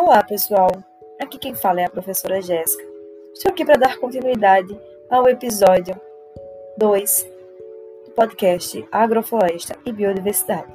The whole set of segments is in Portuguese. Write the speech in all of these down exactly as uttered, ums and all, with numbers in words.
Olá, pessoal! Aqui quem fala é a professora Jéssica. Estou aqui para dar continuidade ao episódio dois do podcast Agrofloresta e Biodiversidade.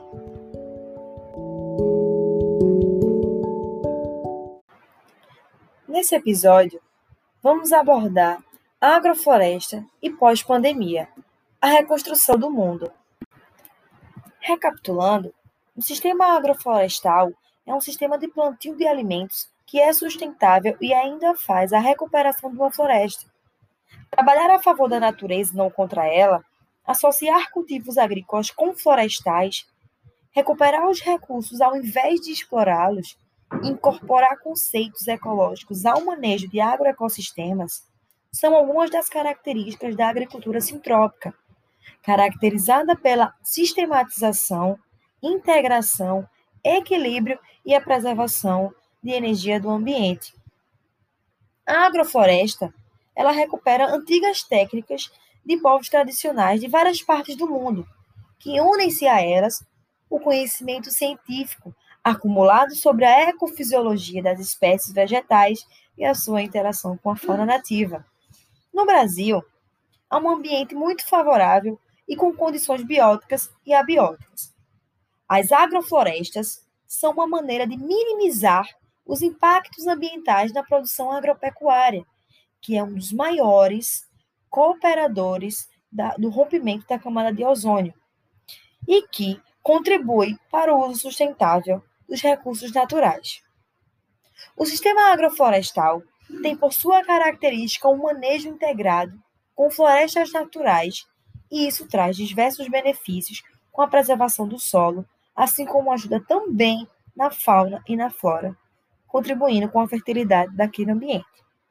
Nesse episódio, vamos abordar a agrofloresta e pós-pandemia, a reconstrução do mundo. Recapitulando, o sistema agroflorestal é um sistema de plantio de alimentos que é sustentável e ainda faz a recuperação de uma floresta. Trabalhar a favor da natureza e não contra ela, associar cultivos agrícolas com florestais, recuperar os recursos ao invés de explorá-los, incorporar conceitos ecológicos ao manejo de agroecossistemas, são algumas das características da agricultura sintrópica, caracterizada pela sistematização, integração, equilíbrio e a preservação de energia do ambiente. A agrofloresta, ela recupera antigas técnicas de povos tradicionais de várias partes do mundo, que unem-se a elas o conhecimento científico acumulado sobre a ecofisiologia das espécies vegetais e a sua interação com a fauna nativa. No Brasil, há um ambiente muito favorável e com condições bióticas e abióticas. As agroflorestas são uma maneira de minimizar os impactos ambientais na produção agropecuária, que é um dos maiores cooperadores da, do rompimento da camada de ozônio e que contribui para o uso sustentável dos recursos naturais. O sistema agroflorestal tem por sua característica um manejo integrado com florestas naturais e isso traz diversos benefícios com a preservação do solo, assim como ajuda também na fauna e na flora, contribuindo com a fertilidade daquele ambiente.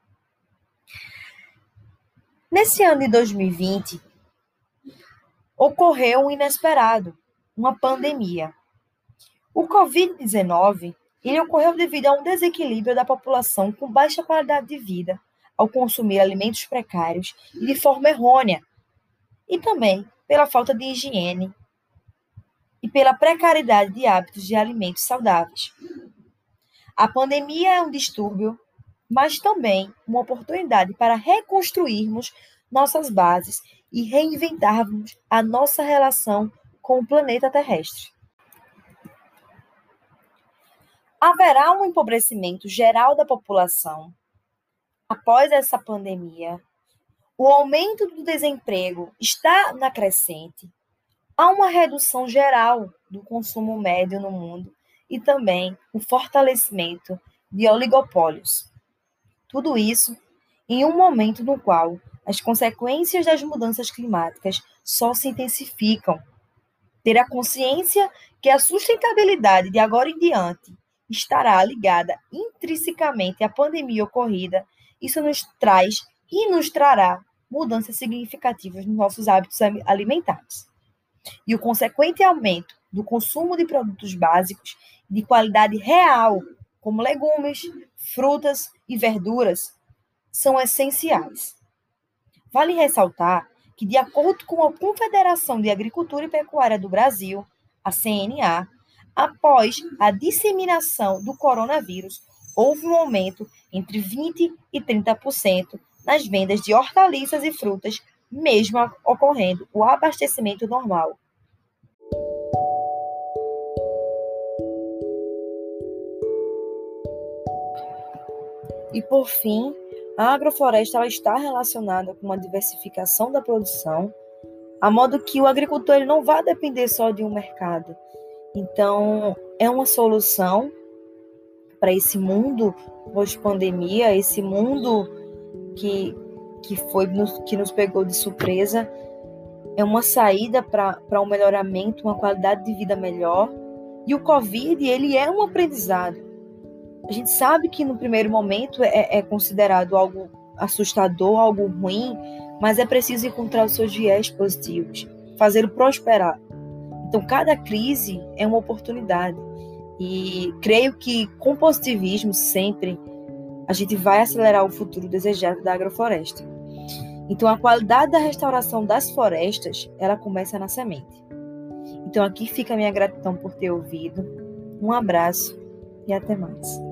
Nesse ano de dois mil e vinte, ocorreu um inesperado, uma pandemia. O covid dezenove ele ocorreu devido a um desequilíbrio da população com baixa qualidade de vida, ao consumir alimentos precários e de forma errônea, e também pela falta de higiene e pela precariedade de hábitos de alimentos saudáveis. A pandemia é um distúrbio, mas também uma oportunidade para reconstruirmos nossas bases e reinventarmos a nossa relação com o planeta terrestre. Haverá um empobrecimento geral da população após essa pandemia. O aumento do desemprego está na crescente. Há uma redução geral do consumo médio no mundo e também o fortalecimento de oligopólios. Tudo isso em um momento no qual as consequências das mudanças climáticas só se intensificam. Ter a consciência que a sustentabilidade de agora em diante estará ligada intrinsecamente à pandemia ocorrida, isso nos traz e nos trará mudanças significativas nos nossos hábitos alimentares. E o consequente aumento do consumo de produtos básicos de qualidade real, como legumes, frutas e verduras, são essenciais. Vale ressaltar que, de acordo com a Confederação de Agricultura e Pecuária do Brasil, a C N A, após a disseminação do coronavírus, houve um aumento entre vinte por cento e trinta por cento nas vendas de hortaliças e frutas, mesmo ocorrendo o abastecimento normal. E, por fim, a agrofloresta ela está relacionada com uma diversificação da produção, a modo que o agricultor ele não vai depender só de um mercado. Então, é uma solução para esse mundo pós-pandemia, esse mundo que, que, foi, que nos pegou de surpresa, é uma saída para um melhoramento, uma qualidade de vida melhor. E o Covid, ele é um aprendizado. A gente sabe que no primeiro momento é, é considerado algo assustador, algo ruim, mas é preciso encontrar os seus viés positivos, fazê-lo prosperar. Então, cada crise é uma oportunidade. E creio que com positivismo sempre a gente vai acelerar o futuro desejado da agrofloresta. Então, a qualidade da restauração das florestas, ela começa na semente. Então, aqui fica a minha gratidão por ter ouvido. Um abraço e até mais.